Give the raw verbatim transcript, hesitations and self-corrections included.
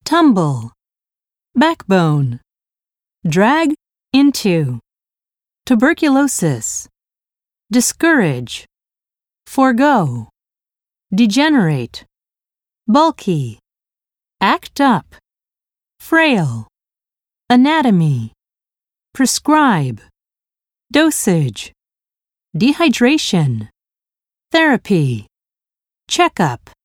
tumble, backbone, drag into, tuberculosis, discourage, forego, degenerate, bulky, act up, frail, anatomy, prescribe, dosage, dehydration, therapy, checkup.